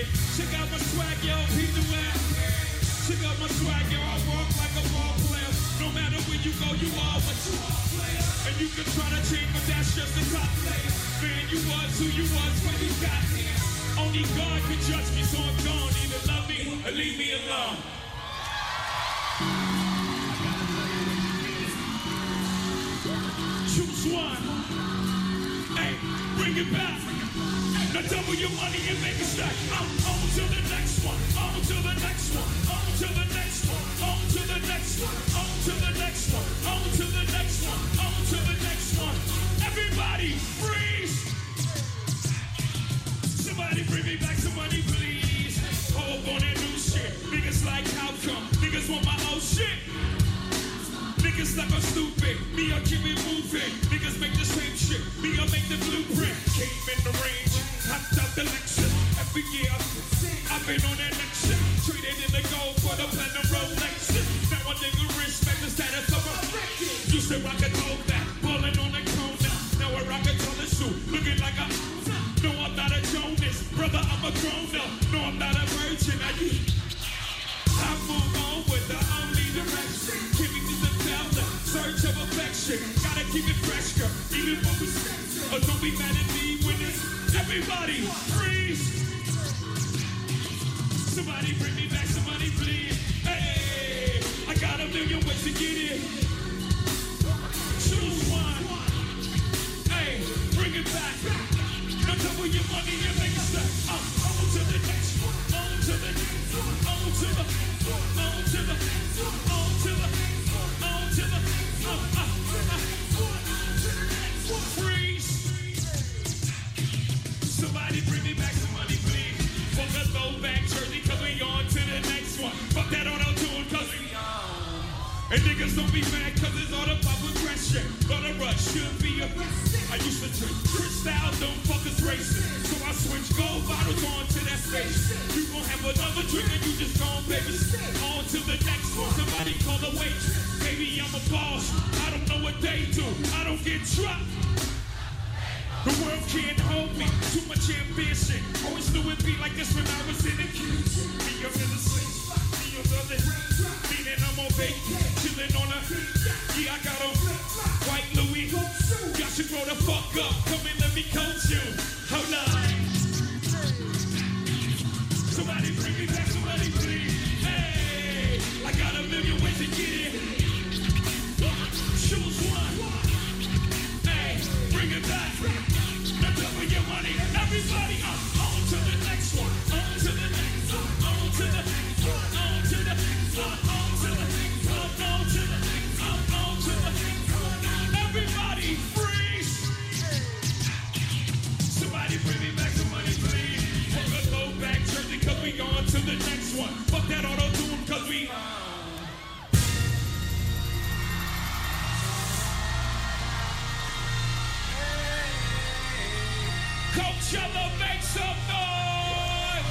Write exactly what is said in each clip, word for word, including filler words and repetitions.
it. Check out my swag, yo, peep the way. Check out my swag, yo, I walk like a ball player. No matter where you go, you are what you are. And you can try to change, but that's just the top player. Man, you was who you was when you got here. Only God can judge me, so I'm gone. Either love me or leave me alone. Choose one. Hey, bring it back. Now double your money and make it stack. I'm on to the next one. On to the next one. On to the next one. On to the next one. On to the next one. On to the next one. On to the next one. Everybody, freeze. Somebody bring me back some money, please. Hold on that new shit. Niggas like how come? Niggas want my old shit. Niggas like I'm stupid, me I keep it moving. Niggas make the same shit, me I make the blueprint. Came in the range, hopped out the Lexus. Every year, I've been on that next shit. Traded in the gold for the platinum Rolex. Now a nigga respect the status of a record. Used to rock a throwback, ballin' on the cone. Now I rock a taller suit, looking like a. No, I'm not a Jonas, brother, I'm a grown up. No, I'm not a virgin, I I move on with the only direction. Give me the devil, search of affection. Gotta keep it fresh, girl, even when we or don't be mad at me when it's everybody freeze. Somebody bring me back some money, please. Hey, I got a million ways to get it. Choose one. Hey, bring it back. Now double your money and make it stack. Uh, on to the next one. On to the next one. On to the, on to the, on to the, on to the, uh, uh, uh, freeze. Somebody bring me back some money, please. Fuck a low back jersey, cause we on to the next one. Fuck that auto-tune, cause we on. And niggas don't be mad, cause it's all about progression. But a rush should be a I used to drink Cristal, them fuckers racing. So I switch gold bottles on to that face. You gon' have another drink and you just gon' baby. On to the next one, somebody call the waitress. Baby, I'm a boss, I don't know what they do. I don't get dropped. The world can't hold me, too much ambition. Always knew it'd be like this when I was in the kitchen. Me, I'm in the same spot, me, I'm the meaning I'm on vacation, chillin' on a, yeah, I got on white Louis. Y'all should grow the fuck up, come and let me coach you. Hold on. Somebody bring me back some money, please. Hey, I got a million ways to get it. Choose one. Hey, bring it back. Now double your money. Everybody up. On to the next one. On to the next one. On to the next one. On to the next one. On to the next one. On to the next one. On to the next one. Everybody freeze. Somebody bring me back some money, please. Fuck a low back jersey, cause we on to the next one. Fuck that auto-tune, cause we Coachella, make some noise!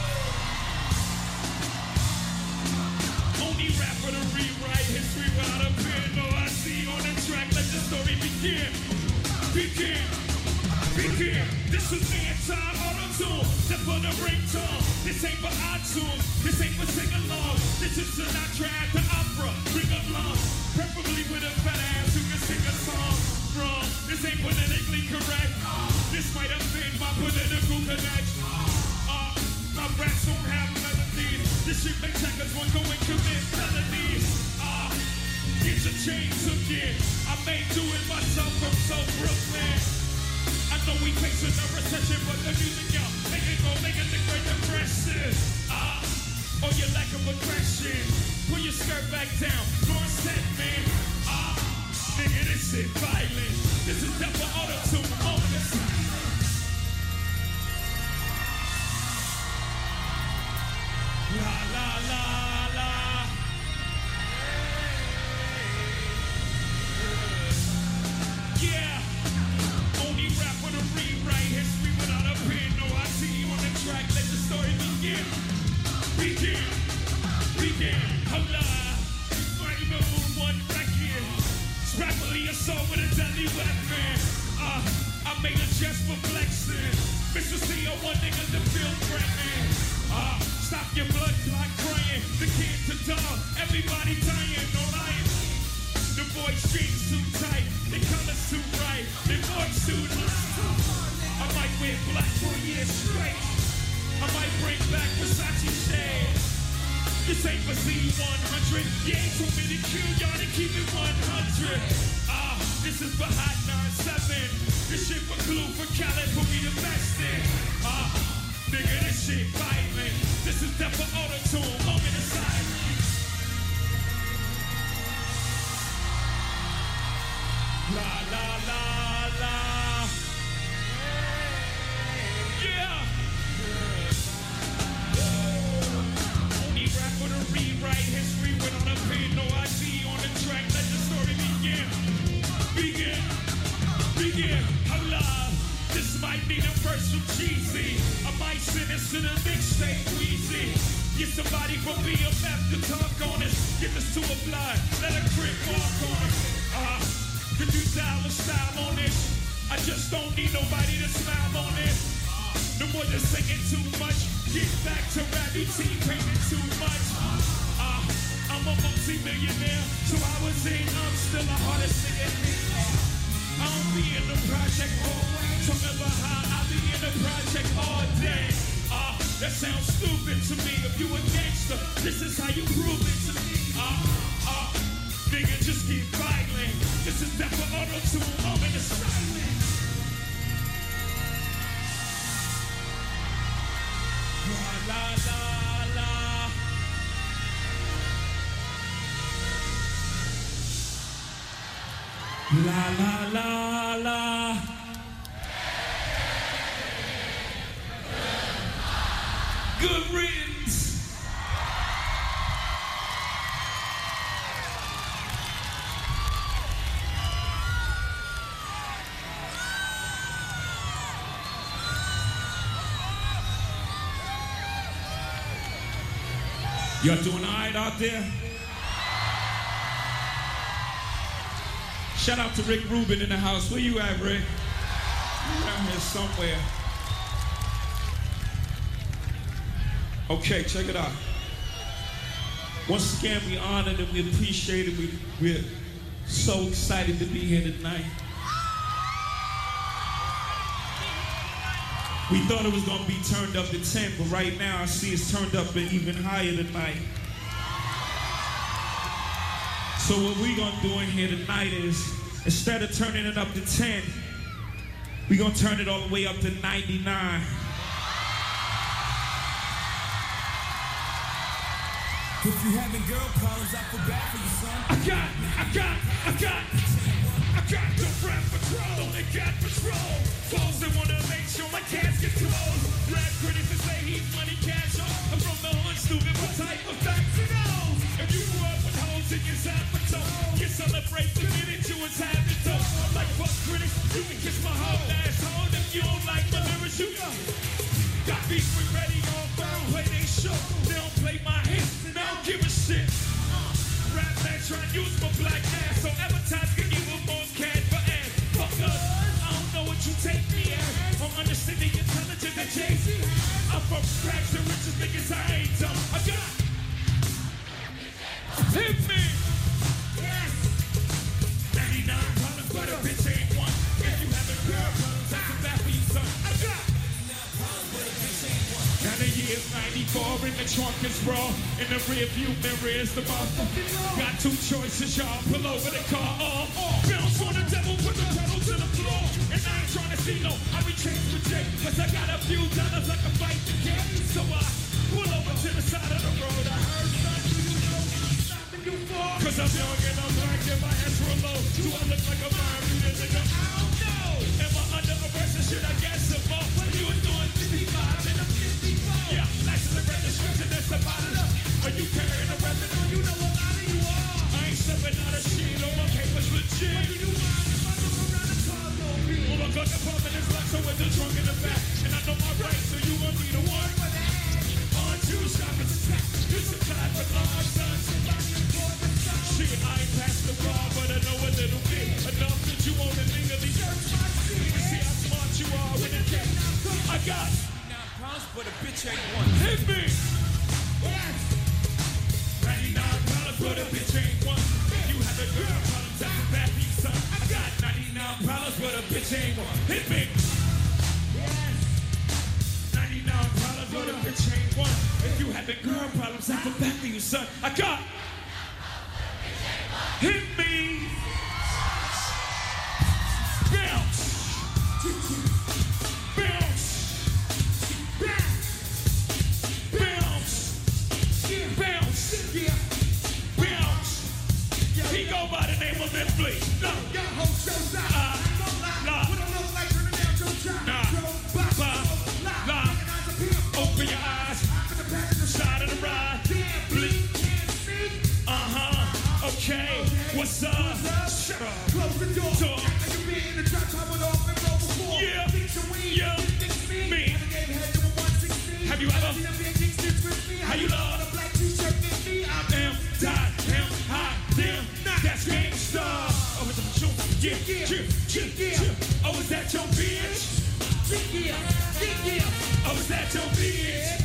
Only rapper to rewrite history without a pen. No, I see on the track, let the story begin. Begin, begin. This is man-time auto-tune, step for the ringtone. This ain't for iTunes, this ain't for sing-along. This is Sinatra at the opera, bring along. Preferably with a fat ass who can sing a song. Wrong, this ain't politically correct. This might offend my political connect. Uh, my raps don't have melodies. This shit makes checkers want to go and commit felonies. Uh, get your chains again. I may do it myself from South Brooklyn. I know we facing a recession, but the music, y'all, make it go, make it the Great Depression. Uh, or your lack of aggression. Pull your skirt back down. North set, man. Ah, uh, nigga, this shit violent. This is death for auto-tune. On the side. La la la la. Yeah. Only rap with a rewrite history without a pen. No, I see you on the track. Let the story begin. Begin. Begin. Hold on. Right number one record. Scrappily assault with a deadly weapon. Uh, I made a jest for flexing. Mister C O one niggas that feel threatening. Uh, bring back Versace shades. This ain't for C one hundred. You ain't told me to kill y'all to keep it one hundred. Ah, uh, this is for Hot nine seven. This shit for Clue, for Khaled, put me the best in. Ah, uh, nigga, this shit violent. This is death for auto-tune, moment of silence. La la la la. Yeah. Only rap with a rewrite. History without a pen. No I D on the track. Let the story begin. Begin. Begin. Allah. This might be the first from Jeezy. I might send this to the mixtape Weezy. Get somebody from B M F to talk on it. Get this to a blood. Let a grip walk on it. Ah. Uh, Could you dial a style on it? I just don't need nobody to smile on it. No more than singing too much. Get back to rap, you team painting too much. Uh, I'm a multi-millionaire, so I was in, I'm still the hardest singer. I don't be in the project always. So remember how I be in the project all day. Uh, that sounds stupid to me. If you a gangster, this is how you prove it to me. Uh, uh, nigga, just keep violent. This is death for auto-tune, moment of silence. La la la la. La la la la. Good riddance. Y'all doing all right out there? Shout out to Rick Rubin in the house. Where you at, Rick? You around here somewhere. Okay, check it out. Once again, we honored and we appreciate it. We, we're so excited to be here tonight. We thought it was gonna be turned up to ten, but right now I see it's turned up even higher tonight. So what we gonna do in here tonight is, instead of turning it up to ten, we gonna turn it all the way up to ninety-nine. If you having girl problems, I feel bad for you, son. I got, I got, I got, I got the rap patrol. They got patrol. Close they wanna make sure my casket closed. Rap critics that say he's money cash off. I'm from the hood, stupid. What type of facts are those? If you grew up with hoes in your zappato, you celebrate the minute you was having dope. Like fuck critics, you can kiss my whole asshole. If you don't like my lyrics, you go. Got beef with ready on phone, play they show. They don't play my hits, and I don't give a shit. Rap man try to use my black ass, so advertise can evil boss cash for ass. Fuck us, I don't know what you take me as. I'm understanding intelligent and Jay-Z. I'm from rags to riches, niggas I ain't dumb. I got hit me. Yes. ninety-nine problems, but a bitch ain't one. If you having girl problems, that's a bad for you, son. I got now the year's ninety-four, in the trunk is raw. In the rear view mirror is the motherfucking law. Got two choices, y'all. Pull over the car or off. Bounce on the devil, put the pedal to the floor. And I ain't trying to see no, I be changed with Jake. Cause I got a few dollars I can fight the game. So I pull over to the side of the road. I heard something, you know what I'm stopping you for. Cause I'm young and I'm black and my hands real low. Do I look like a mind nigga? I don't know. Am I under arrest and shit? I guess I'm off. What are you doing? fifty-five and I'm fifty-four. Yeah, license and registration, that's about it up. Are you carrying a weapon? Oh, you know a lot of you are. I ain't stepping out of shit, all my papers legit. What do you want if I look around the car, no people? Oh my God, the apartment is locked, so with the trunk in the back. And I know my rights, so you want me to one? On two shopping attack. This is time for large sons. Shit, I ain't past the bar, but I know a little bit. Enough that you want to legally search my seat. You see how smart you are with a case. I got But a bitch ain't one. hit me. Yes. ninety-nine problems, but a bitch ain't one. If you have a girl problem, that's a bad piece, son. I got ninety-nine problems, but a bitch ain't one. Hit me. Yes. ninety-nine problems, but a bitch ain't having girl problems, I feel bad for you, son. I got hit me. Bounce. Bounce. Bounce. Bounce. Bounce. He go by the name of Netflix. No. Uh, nah. Nah. Nah. Open your eyes. Side of the ride. Bleed. Uh-huh. Okay. What's up? Shut up. Close the door. Door. Like you be in the trap, I went off and roll before. Yeah. Think your weed, Yeah. think me. Me. Never gave head to a one sixteen. Have you ever? Seen a big king sticks with me. How you love? A black t-shirt fit me. I'm Damn, die, damn, high, damn, that's gangsta. Oh, it's a shoot, yeah, yeah, yeah, yeah, yeah. Oh, is that your bitch? yeah, yeah. Oh, is that your bitch?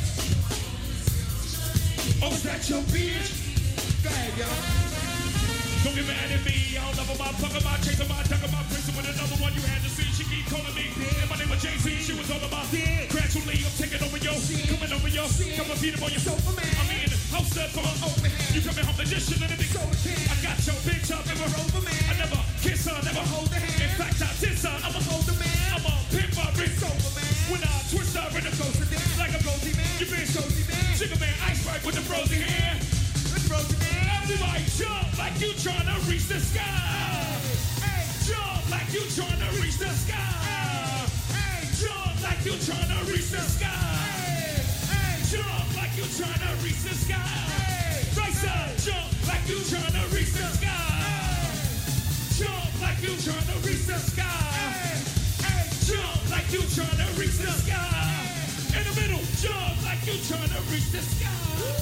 Oh, is that your bitch? Go ahead, yo. Don't get mad at me. I don't love about, fuck about, chasing my, talk about, prison with another one you had to see. She keep calling me. And my name was J C. She was all about. Gradually, I'm taking over yo. Coming over yo. Come and beat him on your sofa, man. I'm in house up on open hand. You coming home the dish and everything. I got your bitch up and we're over, man. I never kiss her, never hold her hand. In fact, I diss her. I'm a older man. I'm a pimp, my wrist over, man. When I twist her in the coast of dance, like a rosy man. You been cozy, man. Sugar man, ice right with the frozen hair. Let's roll the man. Everybody jump like you tryna reach the sky. Hey, Jump like you tryna reach the sky. hey, Jump like you tryna reach the sky. hey, hey, Jump like you tryna reach the sky. hey. Right side, jump like you tryna reach the sky. Jump like you tryna reach the sky. Jump like you tryna reach the sky. In the middle, jump like you tryna reach the sky.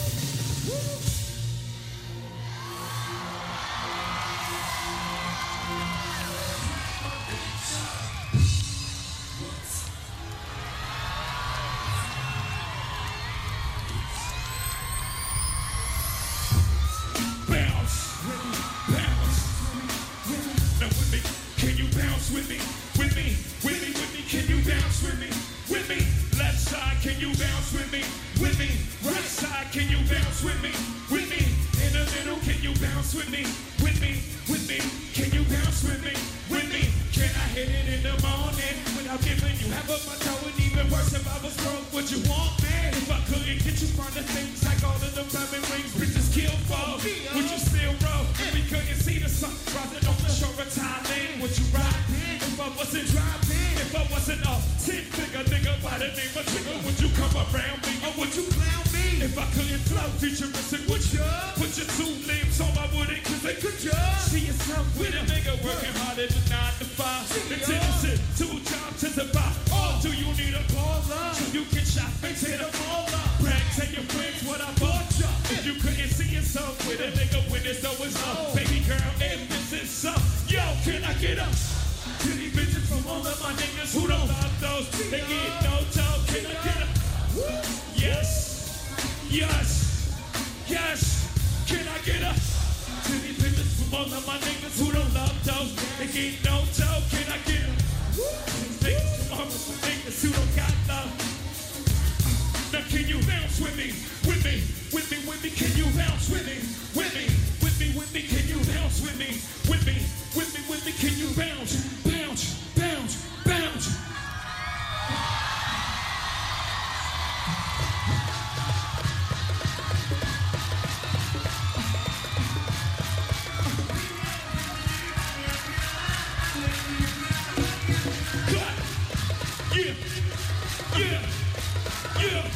Bounce, bounce. Now with me, can you bounce with me? With me, with me, with me, can you bounce with me? With me, left side, can you bounce with me? With me, right side, can you bounce with me? With me, in the middle, can you bounce with me? With me, with me, can you bounce with me? With me, can I hit it in the morning without giving you half of my toe? And even worse, if I was broke, would you want me? If I couldn't get you from the things like all of the diamond rings, bitches kill for, would you still roll? If we couldn't see the sun rising on the shore of Thailand, would you ride? If I wasn't driving, if I wasn't a ten-figure nigga by the name of Trigger, would you come around me or would you clown me? If I couldn't flow futuristic, would you put your two limbs on my wooden? Cause they could you see yourself with a nigga working harder than nine to five. The tendency, two jobs to survive. Or do you need a baller? So you can shop and take a baller. Brag, tell your friends what I bought you. If you couldn't see yourself with a nigga when it's always up. Baby girl, if this is so, yo, can I get up? To these bitches from all of my niggas who don't love those. They get no dough. Can I get up? Yes, yes, yes. Can I get up? To these bitches from all of my niggas who don't love those. They get no dough. Can I get up? These niggas from all of my niggas who don't got love. Now can you bounce with me? With me, with me, with me. Can you bounce with me? With me, with me, with me. Can you bounce with me? With me, with me, with me. Can you bounce? Bounce, bounce, bounce. Yeah, yeah, yeah.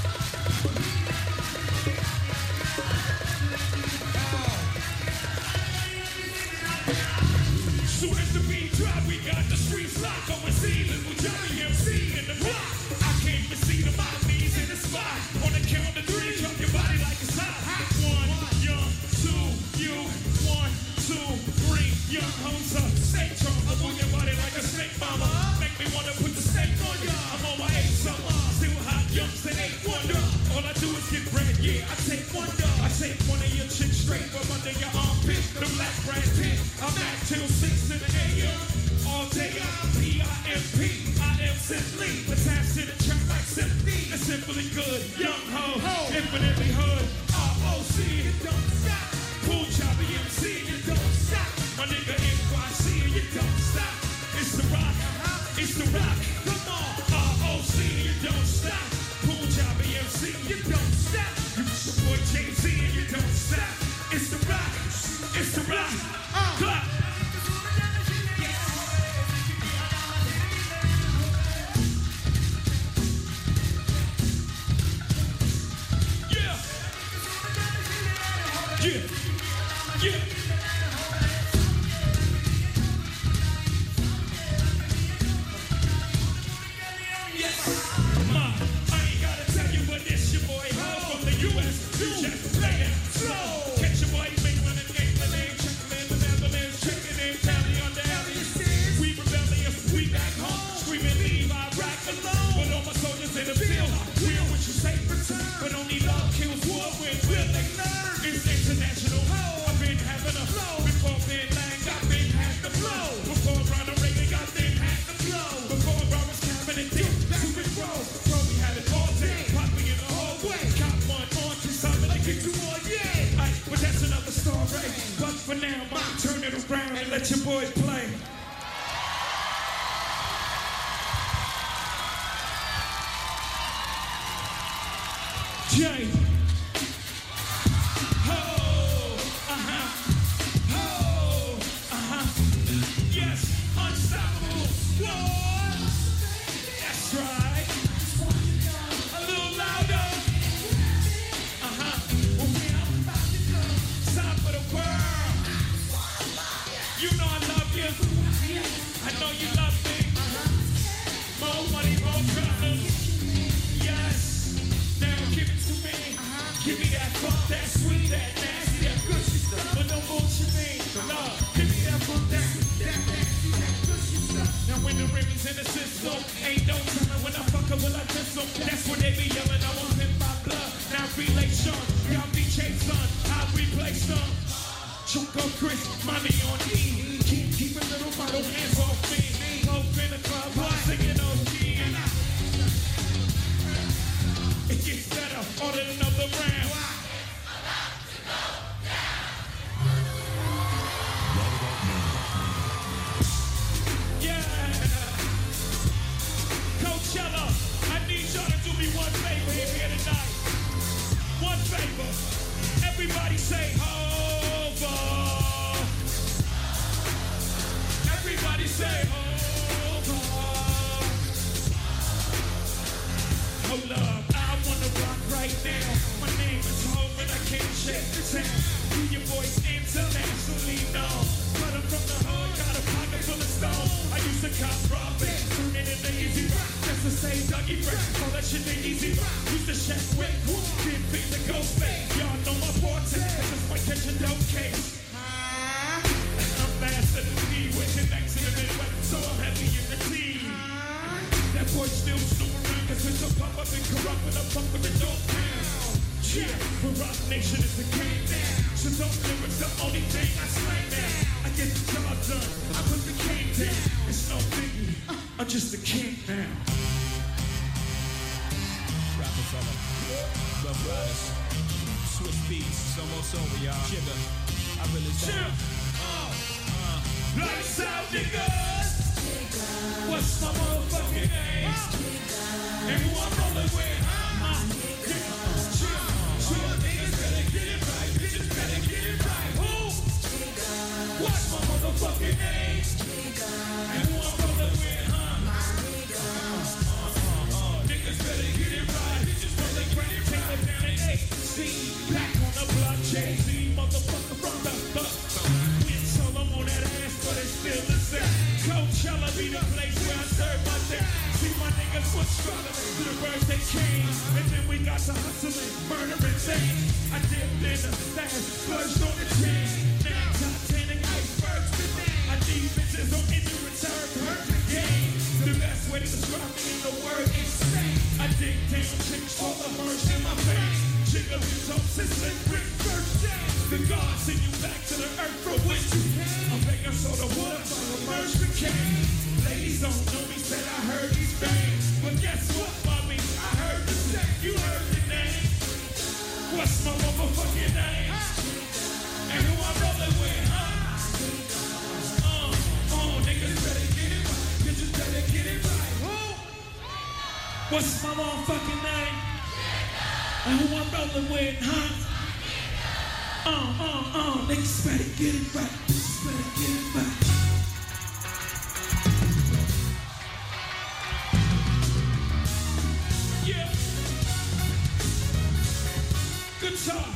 Soon as the beat drop, we got the streets locked. Going season with Johnny M C in the block. I can't even see the bodies in the spot. On the count of three, drop your body like it's hot. One, young, two, you. One, two, three, young homes up. Snake trunk, I'm on your body like a snake mama. Make me wanna put the snake on ya. I'm on my eight summer, still hot, young, and eight wonder. All I do is get bread, yeah, I take one dog. I take one of your chicks straight from under your armpit. The black Brad Pitt. I'm at till six in the A M. All day I'm P I M P. I am simply attached to the track like simply. simply good. Young ho, infinitely hood. R O C, you don't stop. Cool choppy M C, you don't stop. My nigga N Y C, you don't stop. It's the rock, it's the rock. Come on, R O C, you don't stop. Cool choppy M C, you don't stop. You your boy Jay-Z, you don't stop. It's the rock, it's the rock. Clap. Yeah, yeah. Ma, I ain't gotta tell you, but this your boy Ho from the U S. You just play it slow. Catch your boy England and England, checking in the Netherlands, checking in Cali on the alley. We rebellious, we back home, screaming leave Iraq alone. But all my soldiers in the field, we're what you say return. But only love kills war when will they learn. It's international. I've been having a flow. Before Ben Lang, I've been had the flow. Before Ronald Reagan, got been had the flow. Before Robert Cameron did to it roll. Bro, we had it all day. Pop me in the hallway. Got one on, cause I'm gonna get you on, yeah. Ay, but that's another story. But for now, I'ma turn it around and let your boys play. Jay. Give me that fuck, that sweet, that nasty, that gushy stuff. But no bullshit me, no. Give me that fuck, that that nasty, that gushy stuff. Now when the Remy's in the system, ain't no telling when I fuck her, will I diss them? That's when they be yelling, I want him my blood. Now relation, y'all be chased son, I replace them. Choke up Chris, money on E. Keep, keep a little bottle, hands off me. Hope in the club, I'm singing O G. It gets better, order another round. Yeah. Coachella, I need y'all to do me one favor here tonight. One favor. Everybody say Hova. Everybody say Hova. Hold up. I wanna rock right now. My name is Hov and I can't shake the town. You your voice internationally known. But I'm from the hood, got a pocket full of stone. I used to cop robbing, turn it into easy rock. Just to say Dougie Fresh, call that shit the easy rock. Used to check with who did beat the ghost face. Y'all know my forte, just might catch a dope case. I'm faster than me, with connects in the Midwest, so I'm heavy in the team. That boy still snooping around, cause it's a pop up and corrupt when I'm pumping the dope down. Yeah, but Rock Nation is the game now. So don't lyrics the only thing I slang now. I get the job done, I put the cane down. It's no biggie, I'm just a king now. Rockefeller, Rough Riders, Swiss Beats, it's almost over, y'all. Sugar, I really Chill. Uh, uh. Lights out, niggas. What's my motherfucking name? And who I'm rolling with? Uh, chill, chill, niggas better get it right. Bitches better get it right. Who? What's my motherfucking name? And who I'm rolling with? Uh, uh, uh, niggas better get it right. Bitches better get it right. Take it down at eight. See, back on the block, Jay-Z, motherfucker from the buck. Went solo on that ass, but it's still the same. Coachella be the place where I serve my day. See my niggas was struggling to the birds they came. And then we got to hustling, murdering things. I dipped in the stash, splurged on the chain. Now Titanic icebergs today. I need bitches on any return, perfect game. The best way to describe me in the word insane. I dig down chicks for the merch in my veins. Jiggle your toes, it's a brick birthday. The God send you back to the earth from which you came. I'm begging so the wood by the merch became. Ladies don't know me, said I heard these things. But guess what, mommy? I heard the same. What's my motherfucking name? And who I'm rolling with, huh? Uh, uh, uh, niggas better get it right. Niggas better get it right. Yeah. Good talk.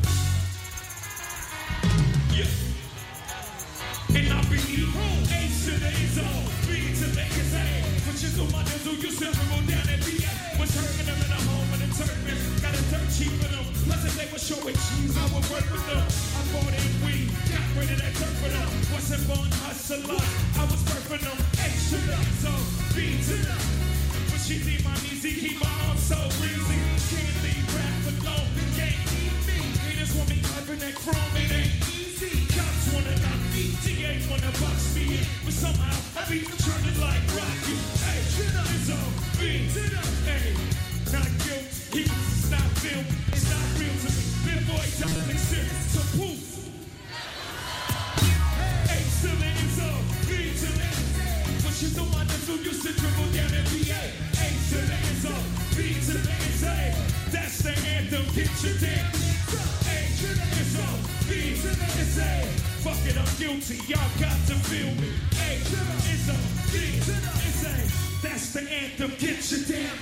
Yeah. And I be A to the is on, B to the is A. Which is on my niggas who used to go down at B A. Was hurting them in the home and the turban. Got a dirt cheap for them. Plus if they were showing cheese, I would work with them. I bought in weed, got rid of that dirt for them. Wasn't born hustler, I was birthing them. A to the is on, B to the. But she need my easy, keep my arms so easy. Can't leave rap alone, can't eat me. Haters want me clapping that chrome, it ain't easy. Cops wanna knock me, G A wanna box me in. But somehow I be turning like Rocky. Hey, it's on B to the A. Not guilty, it's not real, it's not real to me. Big boy don't make sense, so poof. A to the is on, B to the A. But you know my niggas who used to dribble down N B A. A to the is on, B to the is A. That's the anthem, get your damn. A to the is on, B to the is A. Fuck it, I'm guilty, y'all got to feel me. A to the is on, B to the is A. That's the anthem, get your damn.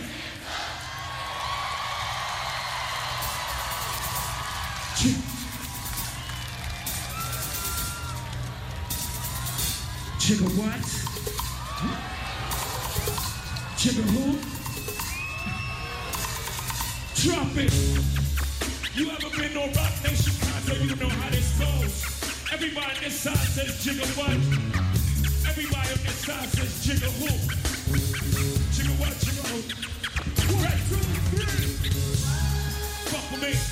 Jigga what? Jigga who? Drop it! You ever been on Rock Nation Condo? You know how this goes. Everybody on this side says jigga what? Everybody on this side says jigga who? Jigga what? Jigga who? Right, two, three. Fuck with me.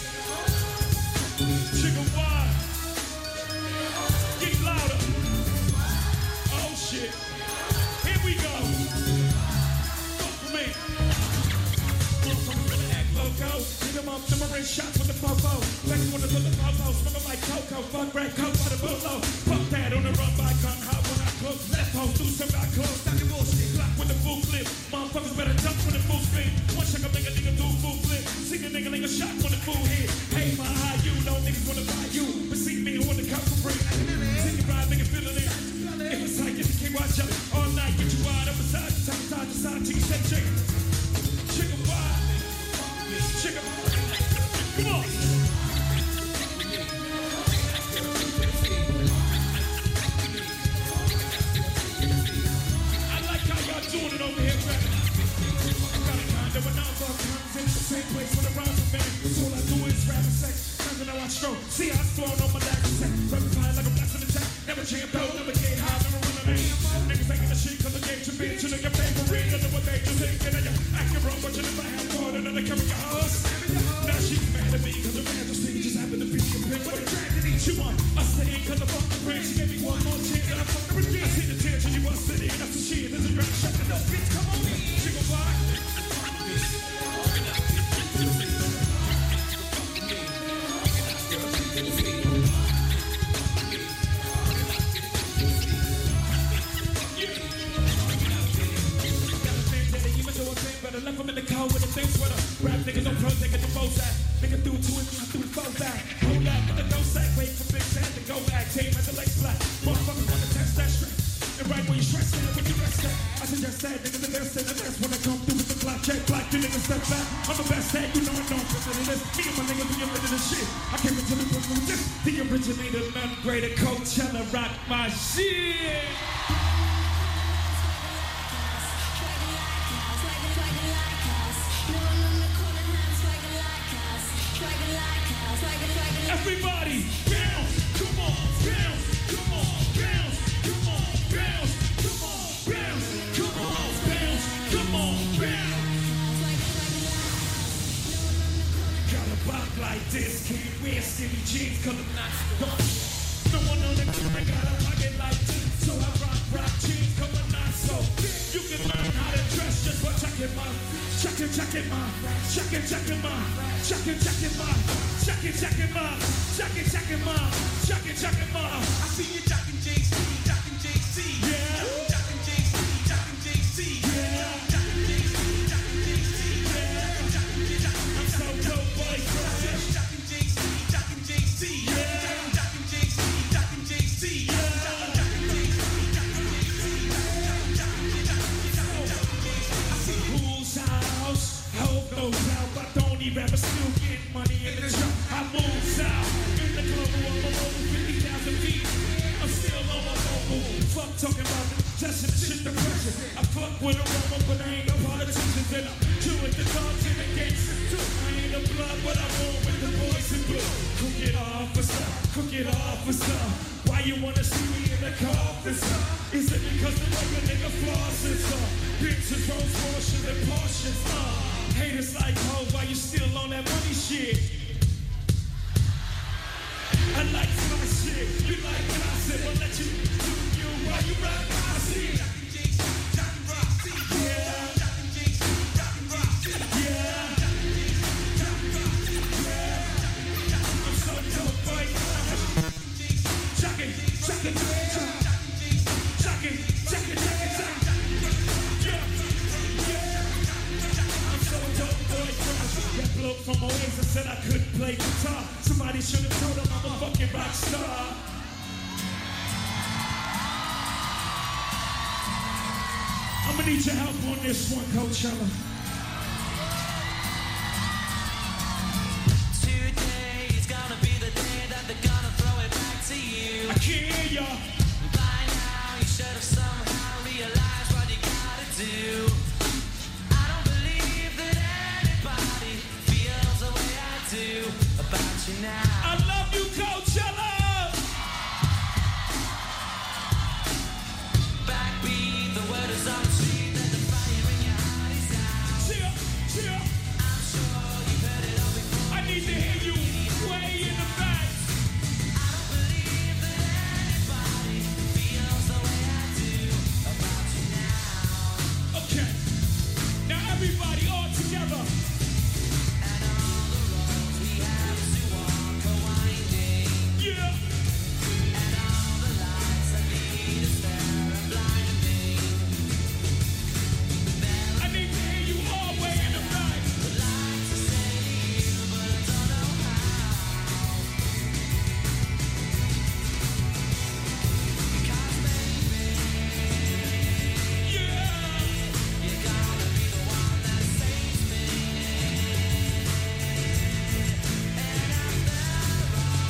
Jigga what? Get louder. Oh shit. Here we go. Fuck with me. Loco. Hit them up, number shots with the fofo. Back when the little fofo, smoking like cocoa. Fuck red coke by the bullo. Fuck that on the run by gun. Hot when I cook. Left home, do some I cook. Stop your bullshit. Glock with the full clip. Motherfuckers better jump when the full spin. One shot can make a nigga do full flip. See the nigga like a shot when the full hit. Hey, my how you know niggas wanna buy you. But see me on the couch for free. See you ride, nigga feeling it. If it's like if you can't watch up all night, get you wide up beside you. Top, side to side, chicken, shake, chicken. Chicken wide. Chicken. Come on. I like how y'all doing it over here, man. I got a condo when I'm all times in the same place when I'm around the man. So all I do is rap and sex. Nothing I watch stroke. See how I'm throwing on my lag and sex. Rapping fire like a blast in the tank. Never champ though, never get high, never run a name. Niggas making the shit cause the game to bitch. You know your favorite, you know what they just thinking. And you're acting wrong, but you never have more than they carry your house. Now she's mad at me cause the majesty just happened to be a bitch. What a tragedy, she want us to end cause I fucked the brain. She gave me one more chance and I fucked her again. I see the tears and you busted in, that's the shit. There's a drag shot and no bitch, come on. She gon' fly. Better left them in the cold with a thin sweater. Rap niggas on pro, taking the bows out. Nigga through two and through the foes out. Hold out with the no sack, wait for big Sam to go back. Team at the leg flat. Motherfuckers wanna test that stress. And right when you stress it, when you rest that. I suggest that niggas the best and the best when I come through with the black check. Black, you niggas step back. I'm the best at, you know I know I'm of this. Me and my niggas, we into this shit. I came into the book with this. The originator, none greater. Coachella, rock my shit. Everybody, bounce, come on, bounce, come on, bounce, come on, bounce, come on, bounce, come on, bounce, come on, bounce. Got a bop like this, can't wear skinny jeans, cause I'm not so. No one on the camera got a pocket like this, so I rock, rock jeans, cause I'm not so. You can learn how to dress just by checking my, checking, checking my, checking, checking my, checking, checking my. Checking, checking ma, checking, checking ma, checking, checking ma. I see you jocking J C, jocking J C, yeah. Jocking J C, jocking J C, yeah. Jocking J C, jocking J C. but still getting money in the truck. I move south in the global, I'm over fifty thousand feet. I'm still on my mobile. Fuck talking about the just and shit the pressure. I fuck with a woman, but I ain't a politician. And I'm true with the dogs and the gangsters too. I ain't a blood, but I'm on with the boys in blue. Cook it officer, cook it officer. Why you wanna see me in the car, officer? Is it because the way a nigga flosses, uh? Bitches, Rolls Royces, and Porsches, uh? Haters like, oh, why you still on that money shit? I like my shit, you like gossip, I'll let you do you while you rock my shit. From Oasis said I couldn't play guitar. Somebody should have told him I'm a fucking rock star. I'm gonna need your help on this one, Coachella. Today is gonna be the day that they're gonna throw it back to you. I can't hear ya. By now you should have somehow realized what you gotta do. I don't believe that anybody feels the way I do about you now. I love you, Coachella. Backbeat, the word is on the street that the fire in your heart is out. Cheer, cheer. I'm sure you've heard it all before. I need to hear you way in the back. I don't believe that anybody feels the way I do about you now. Okay. Now everybody all together. And all the roads we have to walk are winding. Yeah. And all the lights that lead us there are blinding. I need to hear you all way in the back. I'd like to say to you, but I don't know how. Because baby, Yeah. you're gonna be the one that saves me. And after all,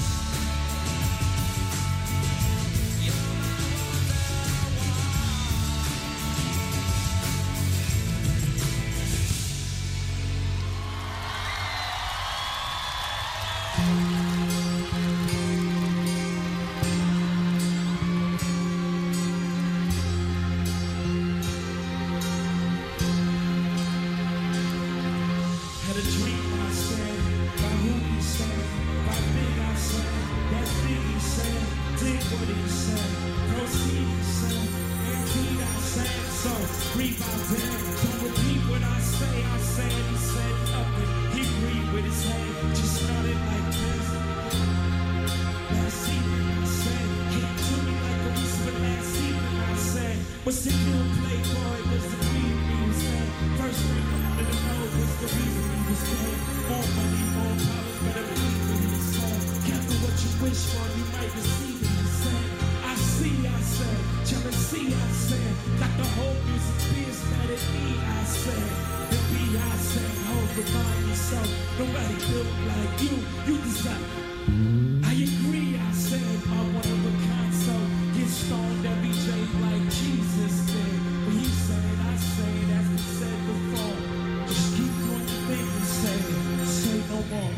you're my Had a dream I said, by who he said, by big I said, that big he said, did what he said, proceed he said, and read I said, so read my dead, don't repeat what I say, I said, he said nothing, he agreed with his head, just nodded like this. Last evening I said, came to me like a whisper last evening I said, what's the new playboy, was the real me was dead, first thing I wanted to know was the reason he was dead, more money, more power, better believe what he said, careful what you wish for, you might receive it, he said, I see, I said, jealousy, I said, got the whole music biz mad at me, I said, the B I said, hold, remind yourself, nobody built like you, you deserve. I agree, I said, I'm one of a kind, so get stoned every day like Jesus did. But he said, I said, as we said before, just keep doing the thing he said, say no more.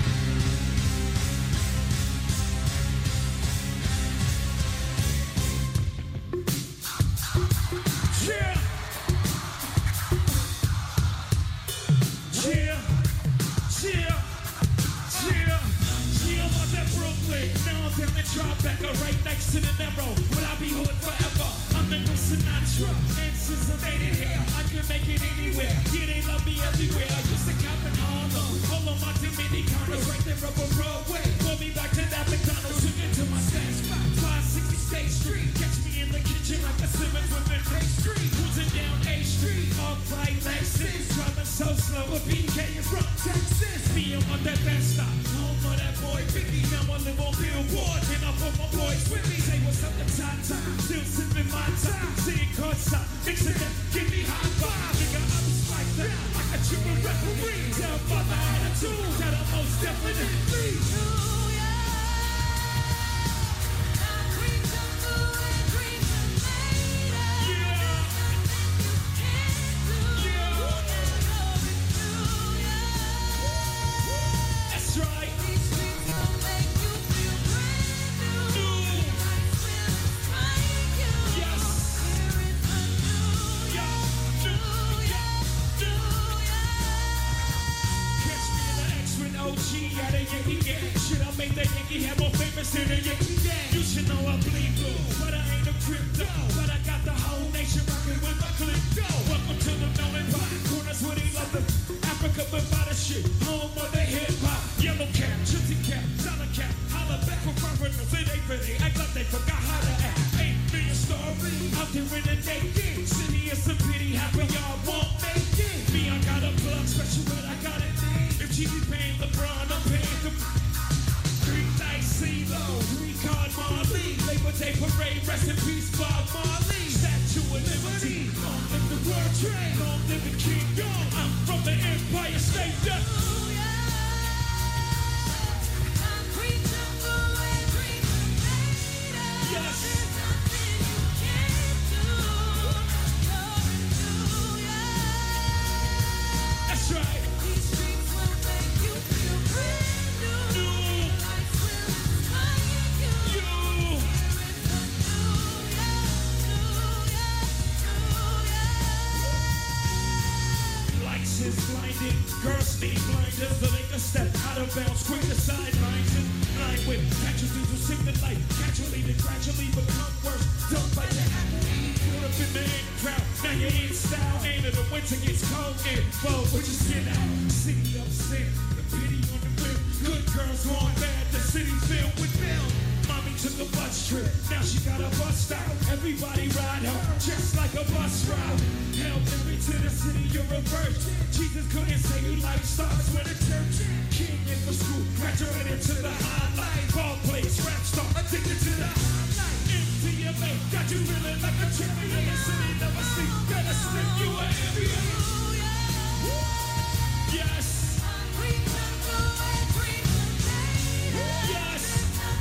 Yeah! Yeah! Yeah! Yeah! Yeah, I'm out at Brooklyn. Now I'm down in Tribeca, right next to the Narrow. Will I be hood forever? I'm the new Sinatra. Answers are made in here. I can make it anywhere. Yeah, they love me everywhere. I used to cap in Harlem. All of my Dominicanos right there up on Broadway. Pull me back to that McDonald's. Took it to my stash spot. five sixty State Street. Catch me in the kitchen like a Simmons with a pastry. Cruising down A Street. Off right Lexus. Driving so slow. A B K in front Texas. Me, I'm on that best stop. Home of that boy Biggie. Now I live on Billboard. And I put my boys with me. Say what's up to Tata. Still sipping my time. Sitting courtside. Mixing it. Give me high five. Nigga, I'm spiked up. I got you a referee. Tell mother I had a definitely. You should know I bleed blue, but I ain't a crypto. But I got the whole nation rocking with my clip. Welcome to the melon pot corners where they love the Africa, but by the shit, home of the hip hop. Yellow cap, gypsy cap, dollar cap, holla back for foreigners. It ain't really act like they forgot how to act. Eight million story out there in the naked city. It's a pity happen y'all won't make it. Me, I got a plug special, but I got it. If G B paying LeBron, I'm paying the. Three nights, CeeLo, three card Marley, Labor Day parade, rest in peace, Bob Marley. Statue of Liberty, long live the World Trade, long live the King Kong. I'm from the Empire State. Yes. That's right. Is blinded, girls need blinders so they can step out of bounds, quick to sidelines and blind with casualties who sink the light, casually to gradually become worse. Don't fight the apple, caught up in the in crowd. Now you're in style, ain't it? The winter gets cold and bold, but you skin out. City of sin, the pity on the whip. Good girls want bad, the city's filled with them. Mommy took a bus trip, now she got a bus stop. Everybody ride her, just like a bus route. Hell, me to the city, you're a virgin. Jesus couldn't say you like stars when a church. King in for school, graduated to the highlight. Ball place, rap star, addicted to the highlight. M T M A, got you feeling like a champion. The city never sleep, gotta slip you an ambient. Yes. Yes.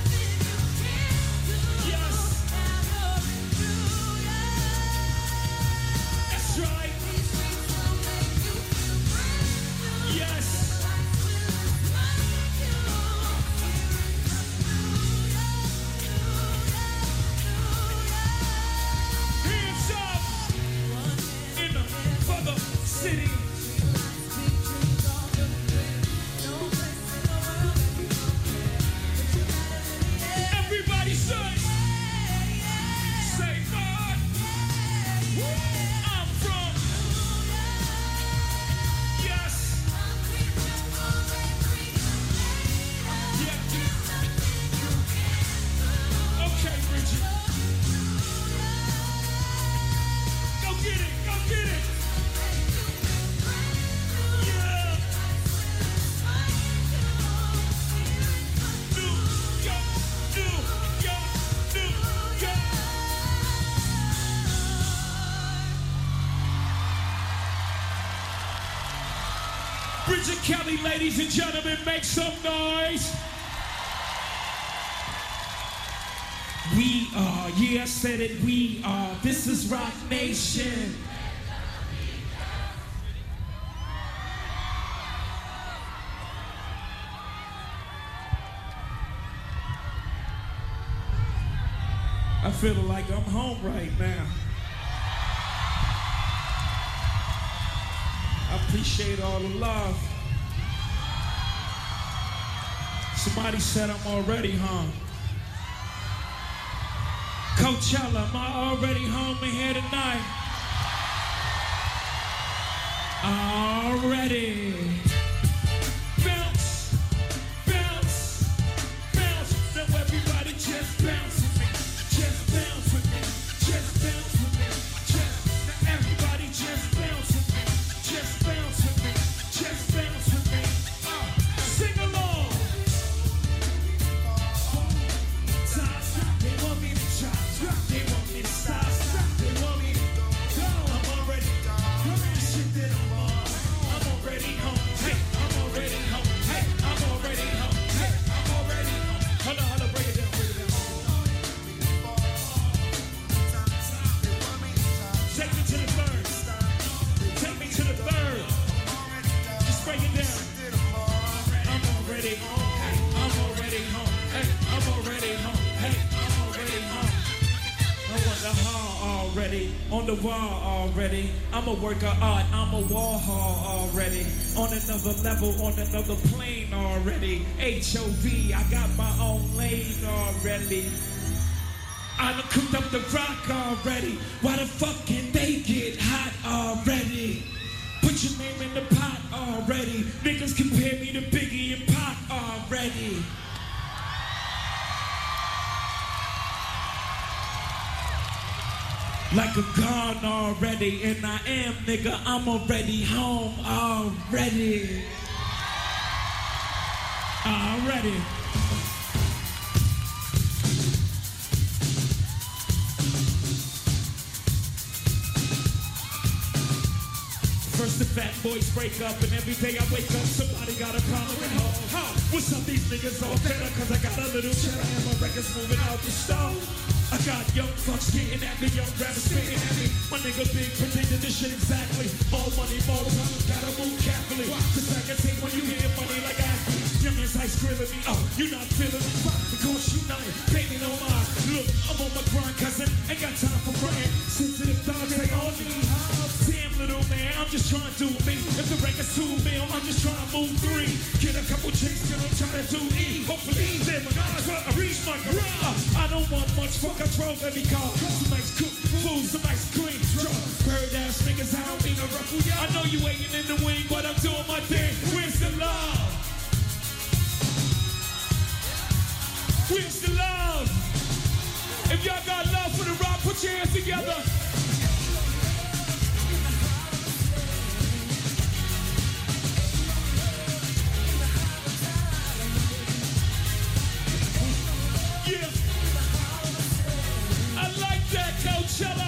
Yes. That's right. Yes. Hands up in the for the city. Everybody say, say God. I'm from. Yes. Okay, Richard. Go get it, go get it. Yeah. New York, New York, New York. Bridget Kelly, ladies and gentlemen, make some noise. We are, yeah, I said it, we are. This is Rock Nation. I feel like I'm home right now. I appreciate all the love. Somebody said I'm already home. Coachella, am I already home in here tonight? Already. Bounce, bounce, bounce. Now everybody just bounce with me. Just bounce with me. Just bounce with me. Just. Now everybody just bounce with me. Just bounce with me. Just bounce with me. Uh, sing along. Time stop. They want me to try. Drop. They want me to stop. Stop. They want me to go. I'm already. Come on, shit that I'm on. I'm already home. already on. Hey, I'm already home. Hey, I'm already home. Hey, I'm already home. I'm on the hall already, on the wall already. I'm a work of art, I'm a wall hall already. On another level, on another plane already. H O V, I got my own lane already. I done cooked up the rock already. Why the fuck can they get hot already? Put your name in the pot already. Niggas compare me to Biggie and Pac already. Like a gun already, and I am, nigga, I'm already home already. Already. First the fat boys break up, and every day I wake up, somebody got a problem at home. Huh? What's up, these niggas all better, cause I got a little cheddar and my records moving out the stove. I got young fucks getting at me, young rappers spitting at me. My nigga big predicted this shit exactly. More money, more problems, gotta move carefully. Cause I can take when you get money like athletes. Young as ice grilling me, oh, you not feeling me. Because you know it, baby, no mind. Look, I'm on my grind, cousin, ain't got time for crying. Sensitive dogs, they all need. Damn, little man, I'm just trying to do me. If the record's two mil, I'm just trying to move three. Get a couple chicks, then I'm trying to do E. Hopefully, then when I reach my garage, I don't want much, fuck, I drove every car. Some nice cook food, some ice cream. Bird ass niggas, I don't mean to ruffle ya. I know you waiting in the wing, but I'm doing my thing. Where's the love? Where's the love? If y'all got love for the rock, put your hands together. Yeah. I like that, Coachella.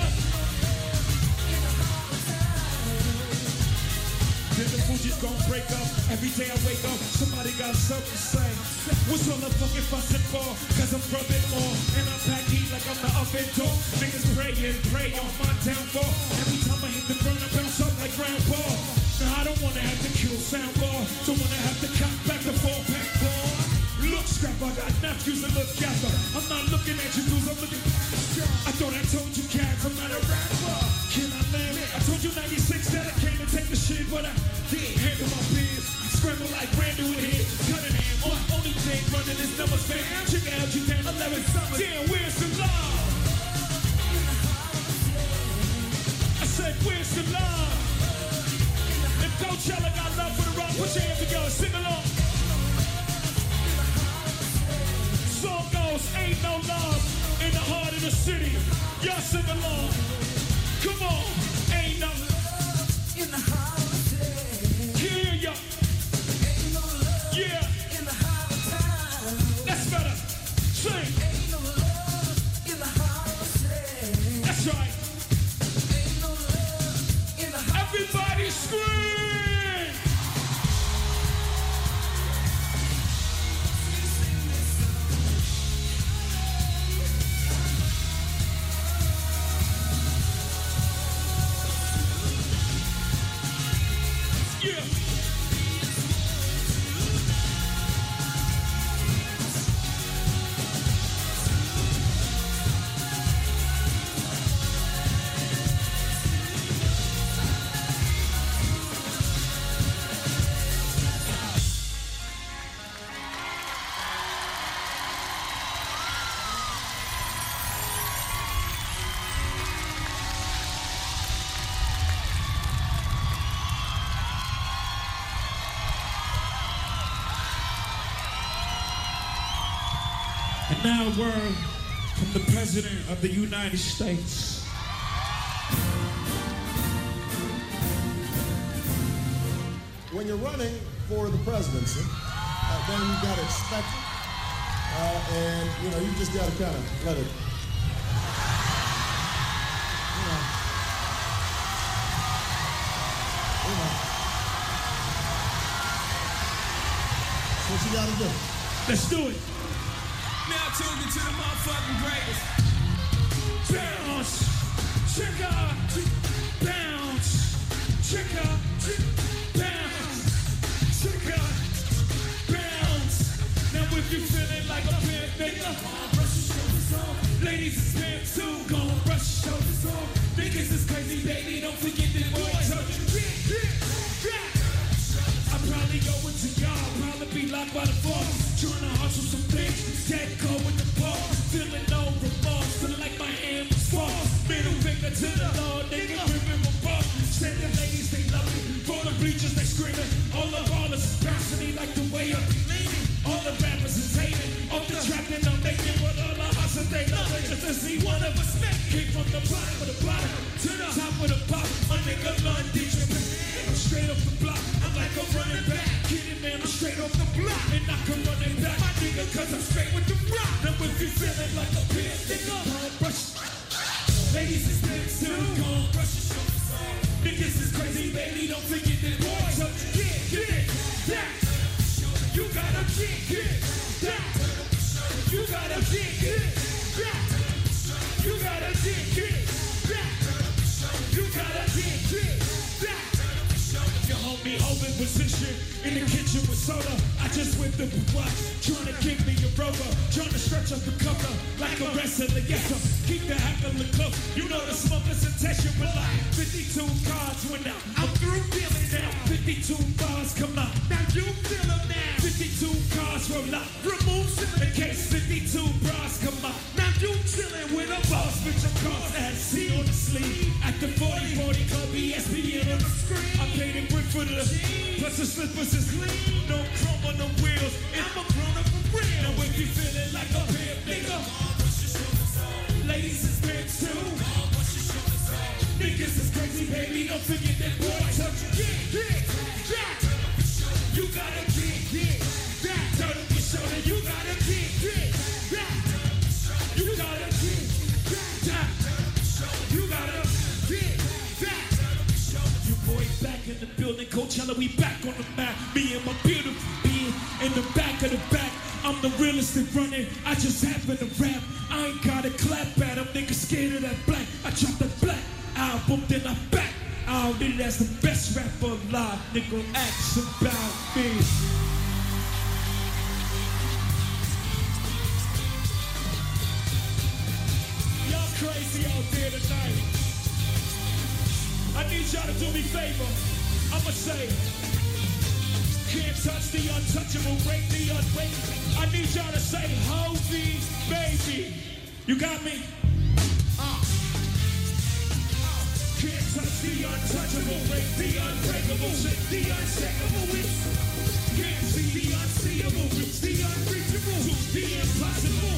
Then the Fuji's gon' break up. Every day I wake up, somebody got something to say. What's all the fucking fussing for? Cause I'm rubbing more. And I pack heat like I'm the oven door. Niggas pray and pray on my downfall. Every time I hit the ground, I bounce up like grandpa. Now I don't wanna have to kill soundbar. Don't wanna have to cock back the four pack ball. Look, scrap, I got nephews that look gather. I'm not looking at you dudes, I'm looking. I thought I told you cats, I'm not a rapper. Can I live? I told you ninety-six that I came to take the shit, but I did. Handle my biz, scramble like Randall in here. Cunningham, on only thing running is numbers, man. Check out you down eleven summers. Damn, where's the love? I said, where's the love? If Coachella got love for the rock, put your hands together, sing along. Song goes, ain't no love in the heart of the city. Y'all sing along. Come on, ain't no love in the heart of the city. Yeah, yeah. Ain't no love yeah. in the heart of town. That's better. Sing. Ain't no love in the heart of the city. That's right. Ain't no love in the heart. Everybody scream. And now a word from the President of the United States. When you're running for the presidency, uh, then you got to expect it. Uh, and, you know, you just got to kind of let it, you know, you know. That's what you got to do. Let's do it. Now tuned into the motherfucking greatest. Bounce, check out, bounce, check out, bounce, check out, bounce, Ladies, it's been too. Gonna brush your shoulders off. Niggas is crazy, baby. Don't forget that boy told you. Yeah, yeah, yeah. I probably go into y'all. Probably be locked by the floor. Trying to hustle some things. Dead cold with the ball. Feeling no remorse. Feeling like my hand was false. Middle finger to the Lord. Nigga, remember ball. Said the ladies, they love me. For the bleachers, they screaming. All the ballers is bouncing. They like the way I be leaning. All the rappers is hating. Off the track and I'm making what all the hustle they love it. Just to see one of us make. Came from the bottom of the bottom to the top of the pop. My nigga London Japan. I'm straight off the block. I'm like a running back. Kidding man, I'm straight off the block. And I can run it back. My nigga, cause I'm straight with the rock. Now if you feeling like a bitch, nigga, come brush. Ladies, it's been too. Come brush your shoulders off. Niggas is crazy, baby. Don't forget that boy. So get, get that. You gotta get, get that. You gotta get, get that. You gotta get, get that. You gotta get, get that. Your homie holding position in the kitchen with soda. I just whipped up a watch, trying to give me a rover, trying to stretch up the cover like a wrestler. Yes, sir. Keep the heckle close. You know the smoke is a test. You like fifty-two cards went out. I'm through dealing now. fifty-two bars come out. Now you feel them now. fifty-two cars roll out. Remove in case fifty-two bras come out. Now you chilling with a boss with your cars at C on the sleeve. At the forty forty Club E S P N on the screen. I paid a brick for the plus the slippers is clean. No chrome on the wheels. And I'm a grown up for real. Now if you feeling like a pimp, nigga, ladies is big too. Niggas is crazy, baby. Don't forget that boy touch you. Yeah, yeah, yeah. You gotta get, get that. Turn up your shoulder. You gotta get, get that. You gotta get that. You gotta get that. You boys back in the building. Coachella, we back on the map. Me and my beautiful being in the back of the back. I'm the realest that running. I just happen to rap. I ain't gotta clap at them. Niggas scared of that black. I dropped that black album, then I back. I did that's the best rapper alive. Nigga, ask about me. Y'all crazy out there tonight. I need y'all to do me a favor. I'ma say, can't touch the untouchable, break the unbreakable. I need y'all to say, Hovey, baby. You got me? Uh. Can't touch the untouchable, break the unbreakable, shake the unshakable. Can't see the unseeable, reach the unreachable, do the impossible.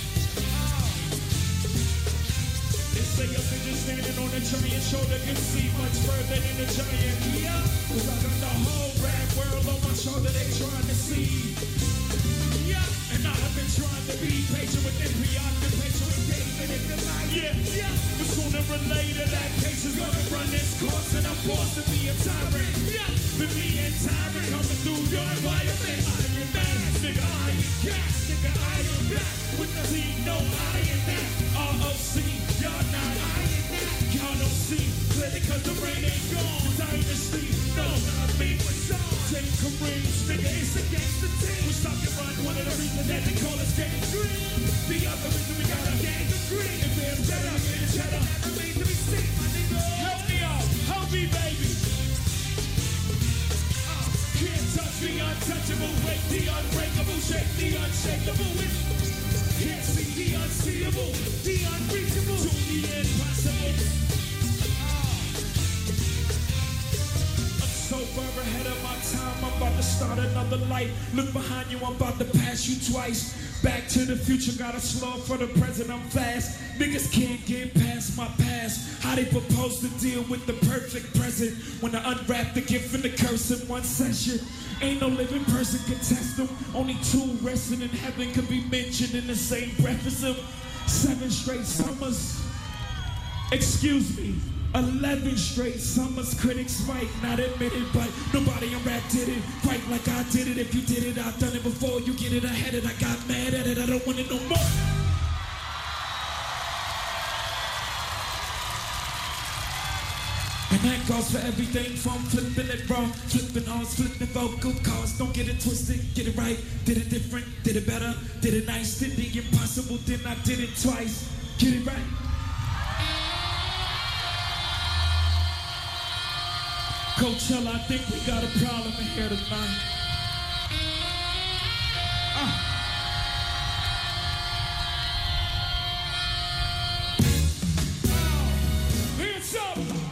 They say a bitch standing on a giant shoulder can see much further than a giant. Yeah, cause I got the whole rap world on my shoulder they trying to see. Yeah, and I've been trying to be patient with them, preoccupation with David and the light. Yeah, yeah, but sooner or later that case is gonna run its course and I'm forced to be a tyrant. Yeah, but me and tyrant coming through your environment. I am that, nigga, I am gas, nigga, I am back with the Z, no, I am that. R O C, y'all not, I am that. Y'all don't see clearly cause the rain ain't gone. Dynasty, no, not me, but y'all. Take Kareem's, nigga, it's against the team. We stop and run, one of the reasons that they call us gang green. The other reason we got a gang of green. If they're better, it's better. Never made to be seen, my nigga. Help me out, help me, baby. Uh, can't touch the untouchable, break the unbreakable, shake the unshakable. Can't see the unseeable, the unreachable, to the impossible. So far ahead of my time, I'm about to start another life. Look behind you, I'm about to pass you twice. Back to the future, gotta slow for the present, I'm fast. Niggas can't get past my past. How they propose to deal with the perfect present when I unwrap the gift and the curse in one session. Ain't no living person can test them. Only two resting in heaven can be mentioned in the same breath as them. Seven straight summers. Excuse me. Eleven straight summers, critics might not admit it, but nobody in rap did it quite like I did it. If you did it, I've done it before. You get it, I had it, I got mad at it. I don't want it no more. And that goes for everything from flipping it wrong, flipping horns, flipping vocal cords. Don't get it twisted, get it right. Did it different, did it better, did it nice, did the impossible, then I did it twice. Get it right. Coachella, I think we got a problem in here tonight. Uh. Hands up.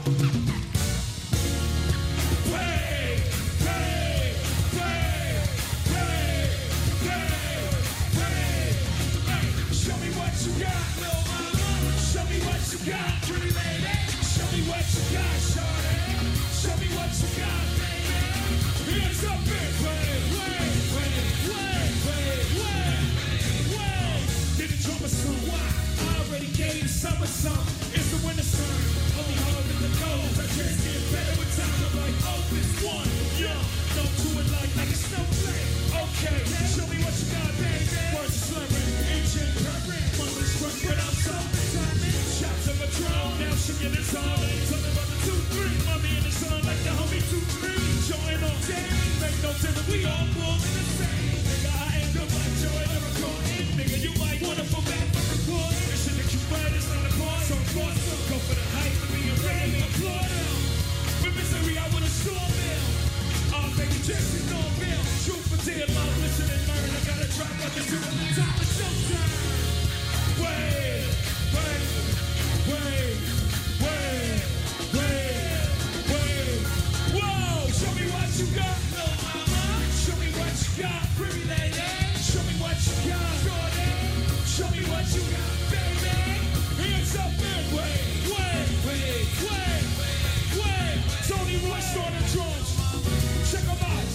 Play, play, play, play, play, play. Hey, show me what you got, little mama. Show me what you got, pretty lady. Show me what you got, shorty. Show me what you got, baby. Hands up and play, play, play, play, play, play, play. Did the drummer song? Why? I already gave the summer song. It's the winter sun. Only hard in the cold. I can't get better with time. I'm like, oh, this one, yeah. Don't do it like like a snowflake. Okay, show me what you got, baby. Words are slurring, engine purring. Money's front, but I'm so determined. Shots of a drone, now she get it on. Tell me about the two, three. Mommy in the sun like the homie two, three. Join on, damn, make no difference. We all born in the same. Nigga, I ain't the black joy, never caught in. Nigga, you might wanna fall back for the court. This shit that you fight is not a part. So force them, go for the hype and being ready. Applaud them. With misery, I would've stormed them. Oh, baby, Jesse, no bill. Truth for dear, love, listen and learn. I gotta drop like this to the top of showtime. Wait, wait, wait, wait, wait, wait. Whoa, show me what you got, little mama. Show me what you got, pretty lady. Show me what you got, shorty. Show me what you got, baby. Hands up and wait, wait, wait, wait, wait. Tony Royce on the drums. Check them out.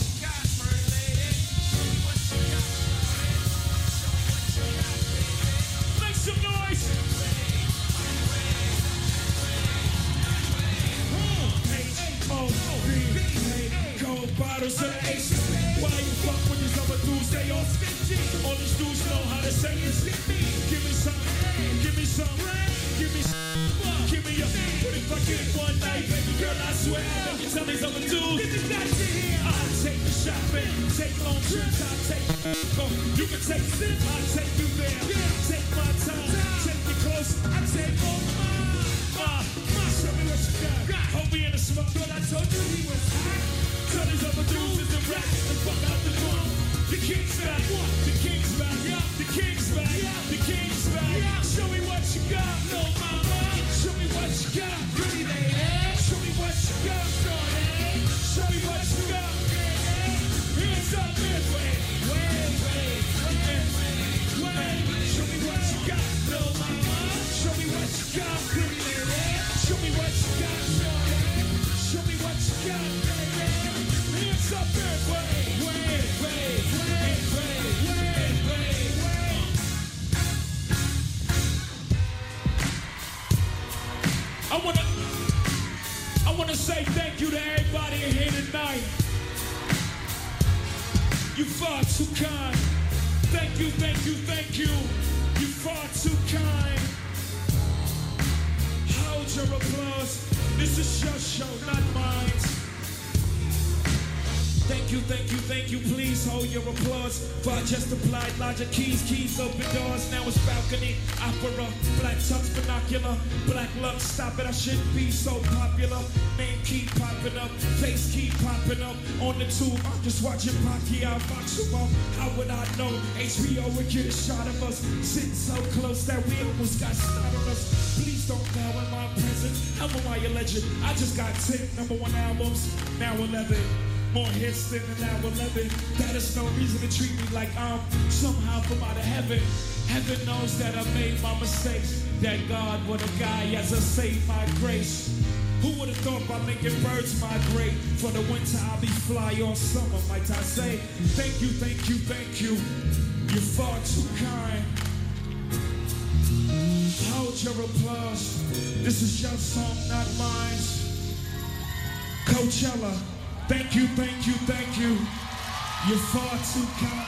Make some noise. H O B A Cold bottles of ace. Why you fuck with these other dudes? They all stingy. All these dudes know how to say it's me. Give me some, give me some, give me some. Give me a, but if I get one night, baby girl, I swear I can tell these other dudes. I'll take you shopping, take long trips, I'll take you. You can take sip, I'll take you there. Take my time, take you close, I'll take all mine. Ma, ma, show me what you got. Hold me in the smoke, girl, I told you he was hot. Tell these other dudes is the rap, and fuck out the drum. The king's back, the king's back, the king's back, the king's back. Show me what you got, little mama. Show me what you got, pretty lady. Show me what you got, shorty. Show me what you got, baby. Hands up and wait, wait, wait, wait, wait. Show me what you got, little mama. Show me what you got, pretty lady. Show me what you got, shorty. Show me what you got, baby. Hands up and wait, wait, wait, wait, wait, wait, wait, wait. I wanna, I wanna say thank you to everybody in here tonight. You far too kind. Thank you, thank you, thank you. You far too kind. Hold your applause. This is your show, not mine. Thank you, thank you, thank you. Please hold your applause. For I just applied logic keys, keys open doors. Now it's balcony, opera, black tux, binocular, black lux. Stop it, I shouldn't be so popular. Name keep popping up, face keep popping up. On the tube, I'm just watching Pacquiao box him up. How would I know H B O would get a shot of us? Sitting so close that we almost got snot on us. Please don't bow in my presence. How am I a legend? I just got ten number one albums, now eleven. More hits than an hour eleven. That is no reason to treat me like I'm somehow from out of heaven. Heaven knows that I made my mistakes. That God, what a guy, as I saved my grace. Who would have thought by making birds migrate? For the winter I'll be fly all summer, might I say. Thank you, thank you, thank you. You're far too kind. Hold your applause. This is your song, not mine. Coachella. Thank you, thank you, thank you. You're far too kind.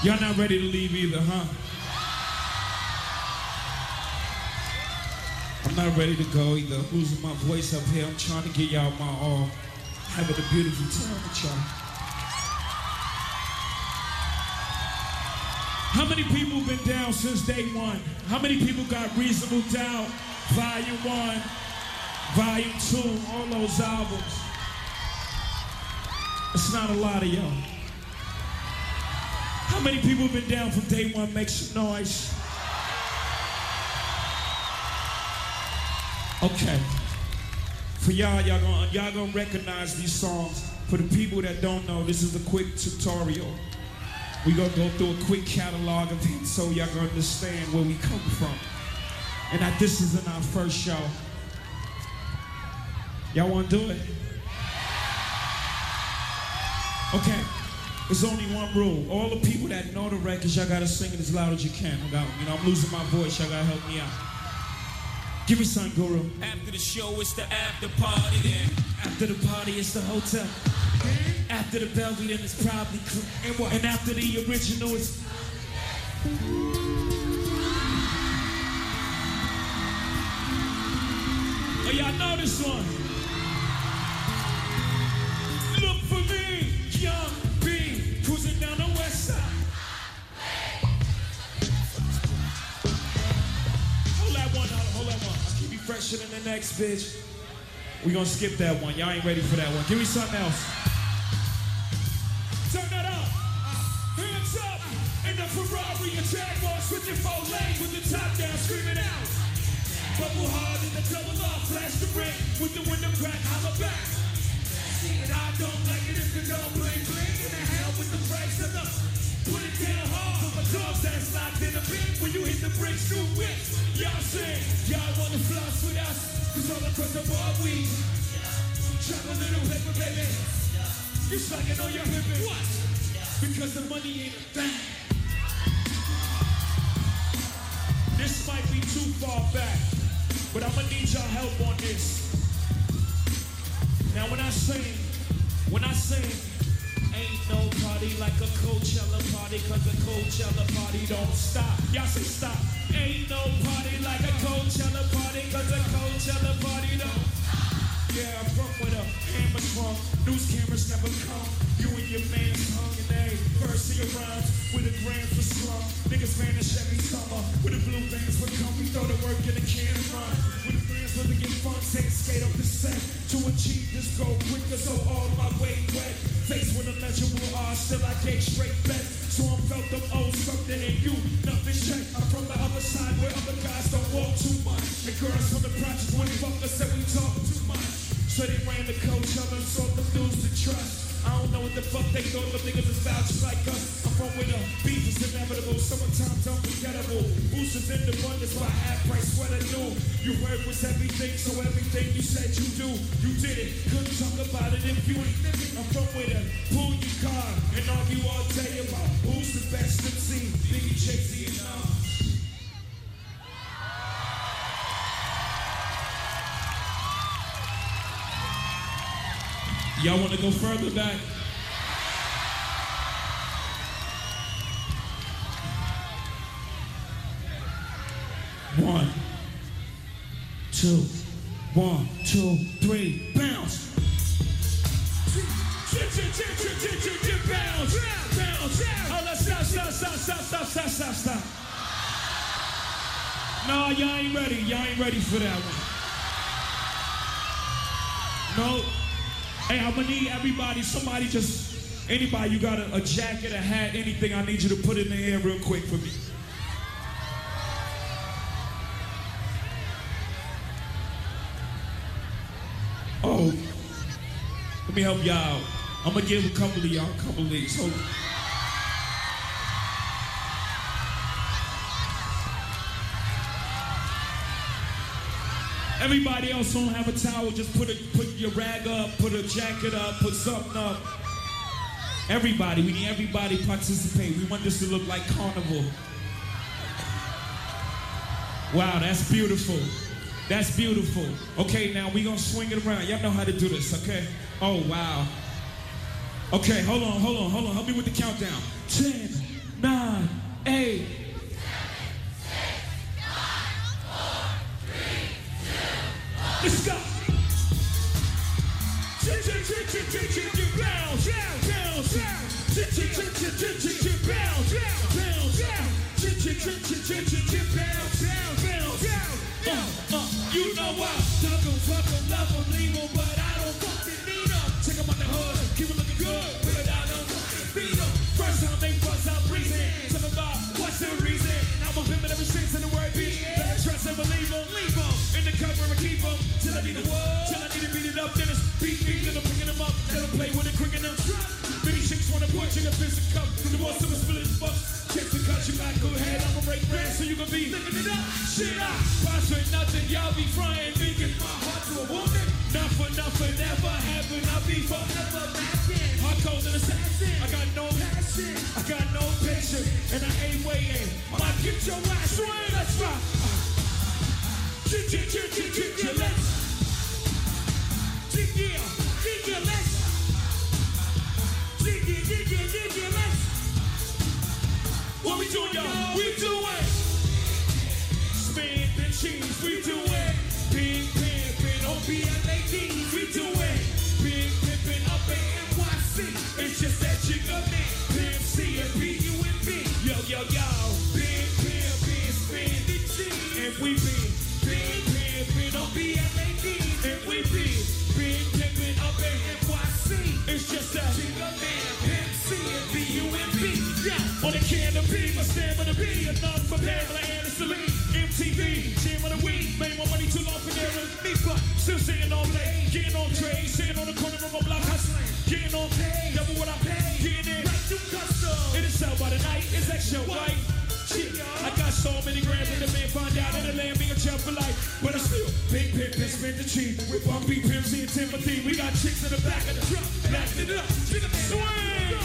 Y'all not ready to leave either, huh? I'm not ready to go either. I'm losing my voice up here. I'm trying to get y'all my all. Having a beautiful time with y'all. How many people been down since day one? How many people got Reasonable Doubt, Volume one, Volume two, all those albums? It's not a lot of y'all. How many people been down from day one? Make some noise. Okay. For y'all, y'all gonna, y'all gonna recognize these songs. For the people that don't know, this is a quick tutorial. We gonna go through a quick catalog of hits so y'all gonna understand where we come from. And that this isn't our first show. Y'all wanna do it? Okay. There's only one rule. All the people that know the records, y'all gotta sing it as loud as you can. I got, you know, I'm losing my voice. Y'all gotta help me out. Give me some, Guru. After the show, it's the after party then. After the party, it's the hotel. After the Belgian, it's probably crew. And what? And after the original, it's... Oh, y'all know this one. Look for me, Young B, cruising down the west side. Hold that one, hold that one. I'll keep you fresher than the next, bitch. We gonna skip that one. Y'all ain't ready for that one. Give me something else. Turn that up. Hands up. In the Ferrari, a Jaguars with your four lanes, with the top down, screaming out. Bubble hard in the double up, flash the ring, with the window crack, holla back. And I don't like it if you don't bling bling. In the hell with the price of the. Put it down hard for my dogs that's locked in the bin. When you hit the bricks, new whips. Y'all sing, y'all wanna floss with us. Cause all across the board we drop a little paper, baby. You're slacking on your hippie. What? Because the money ain't a thing. This might be too far back, but I'ma need y'all help on this. Now when I sing, when I sing, ain't no party like a Coachella party, cause a Coachella party don't stop. Y'all say stop. Ain't no party like a Coachella party, cause a Coachella party don't. Yeah, I'm from with a hammer trunk. News cameras never come. You and your man's hung in a verse of your rhymes with a grand for slum. Niggas vanish every summer. With the blue bands would come, we throw the work in the can and run. With the friends living in fun, take skate up the set. To achieve this goal quicker, so all my way wet. Faced with illegible odds, still I gave straight bet. So I felt them old something in you, nothing check. I'm from the other side where other guys don't walk too much. And girls from the project when they fuck us said we talk too much. So they ran the coach up and sought the dudes to trust. I don't know what the fuck they thought, but niggas is vouching like us. I'm from where the beef is inevitable, summertime's unforgettable. Boosters in the abundance, my half price sweater new. Your word was everything, so everything you said you do, you did it. Couldn't talk about it if you ain't living. I'm from where the pull your car and argue all day about who's the best M C. Biggie, Jay-Z, and all. Y'all want to go further back? One, two, one, two, three, bounce. Bounce, bounce. Oh, let's stop, stop, stop, stop, stop, stop, stop, stop. No, y'all ain't ready. Y'all ain't ready for that one. No. Hey, I'm gonna need everybody, somebody just, anybody, you got a, a jacket, a hat, anything, I need you to put it in the air real quick for me. Oh, let me help y'all out. I'm gonna give a couple of y'all a couple of these. Hold on. Everybody else don't have a towel, just put a, put your rag up, put a jacket up, put something up. Everybody, we need everybody to participate. We want this to look like carnival. Wow, that's beautiful. That's beautiful. Okay, now we gonna swing it around. Y'all know how to do this, okay? Oh, wow. Okay, hold on, hold on, hold on. Help me with the countdown. ten, nine, eight. Let's go. Bounce, bounce, you know what? Duck 'em, fuck 'em, love 'em, leave 'em, but I don't fucking need 'em. Check 'em out the hood, keep 'em looking good, without them fucking beat 'em. First time they bust out breathing, talk about what's the reason? I'm a pimpin' ever since in the word beat. Better trust and believe 'em, leave 'em in the cover and keep 'em till I need 'em, till I need to beat it up. Then it's beat beat, then I'm picking 'em up, let 'em play with it, cricking 'em. Many chicks wanna put you in a physical cup, the boss of a split his bucks. Chicks to cut you back, go ahead, I'ma break bread so you can be living it up. Shit up, boss ain't nothing, y'all be frying, making my heart to a woman. Not for nothing, never happen, I'll be forever laughing. Hard cold and assassin, I got no passion, I got no patience, and I ain't waiting. Might get your ass swing, let's rock. Chit chit chit chit chit chit, let's. Chit yeah, chit yeah, let's. Chit yeah, chit yeah, chit yeah, let's. What we doing, y'all? We doing spin the cheese. We doing big pimpin' on B L A D. We doing big pimpin' up in N Y C. It's just that jigga man, Pimp C and B U and B. Yo, yo, yo, big pimpin', spin the cheese. And we be big pimpin' on B L A D. And we be big pimpin' up in N Y C. It's just that jigga man, Pimp C and B U and B. Yeah, on the canopy, my stamina be enough for Pamela Anderson Lee. M T V, jam of the week, made my money too long for there with me, but still sitting all day, getting on trade, sitting on the corner of my block hustling, getting on pay, double what I pay, getting in, like new custom. It is sell by the night, it's extra white. Shit, I got so many grams when the man find out that the land be a champ for life, but I still big pimp and spin the cheap with Bumpy, Pimp C and Timothy. We got chicks in the back of the truck, backing it up, swing.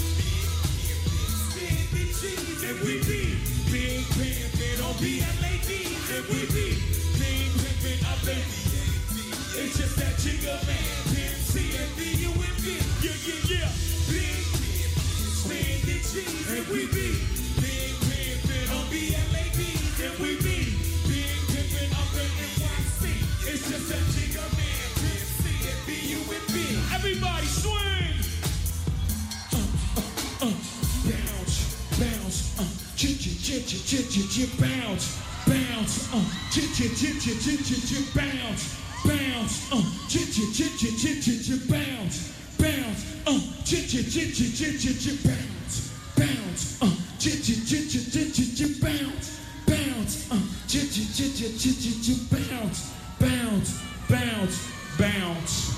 And we be big pimpin' on B L A D. And we be big pimpin' up in it's just that jigga man, Pimp C and B U and B. Yeah, yeah, yeah. Big spin the cheese. And we be big pimpin' on B L A D. And we be big pimpin' up in N Y C. It's just that jigga man, Pimp C and B U and B. Everybody swing. Uh, uh, uh. Bounce, bounce, uh, chit chit chit chit chit chit chit, bounce, bounce, uh, chit chit chit chit chit chit chit, bounce, bounce, uh, chit chit chit chit chit chit chit, bounce, bounce, uh, chit chit chit chit chit chit chit, bounce, bounce, uh, chit chit chit chit chit chit chit, bounce, bounce, uh, chit chit chit chit chit chit chit, bounce, bounce, bounce, bounce,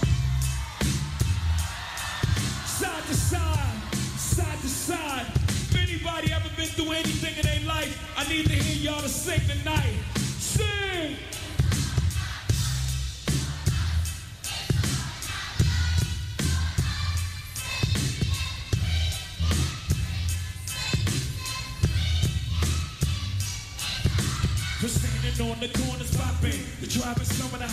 side to side. Side to side. If anybody ever been through anything in their life, I need to hear y'all to sing tonight. Sing! We're standing on the corners popping. The driving some of the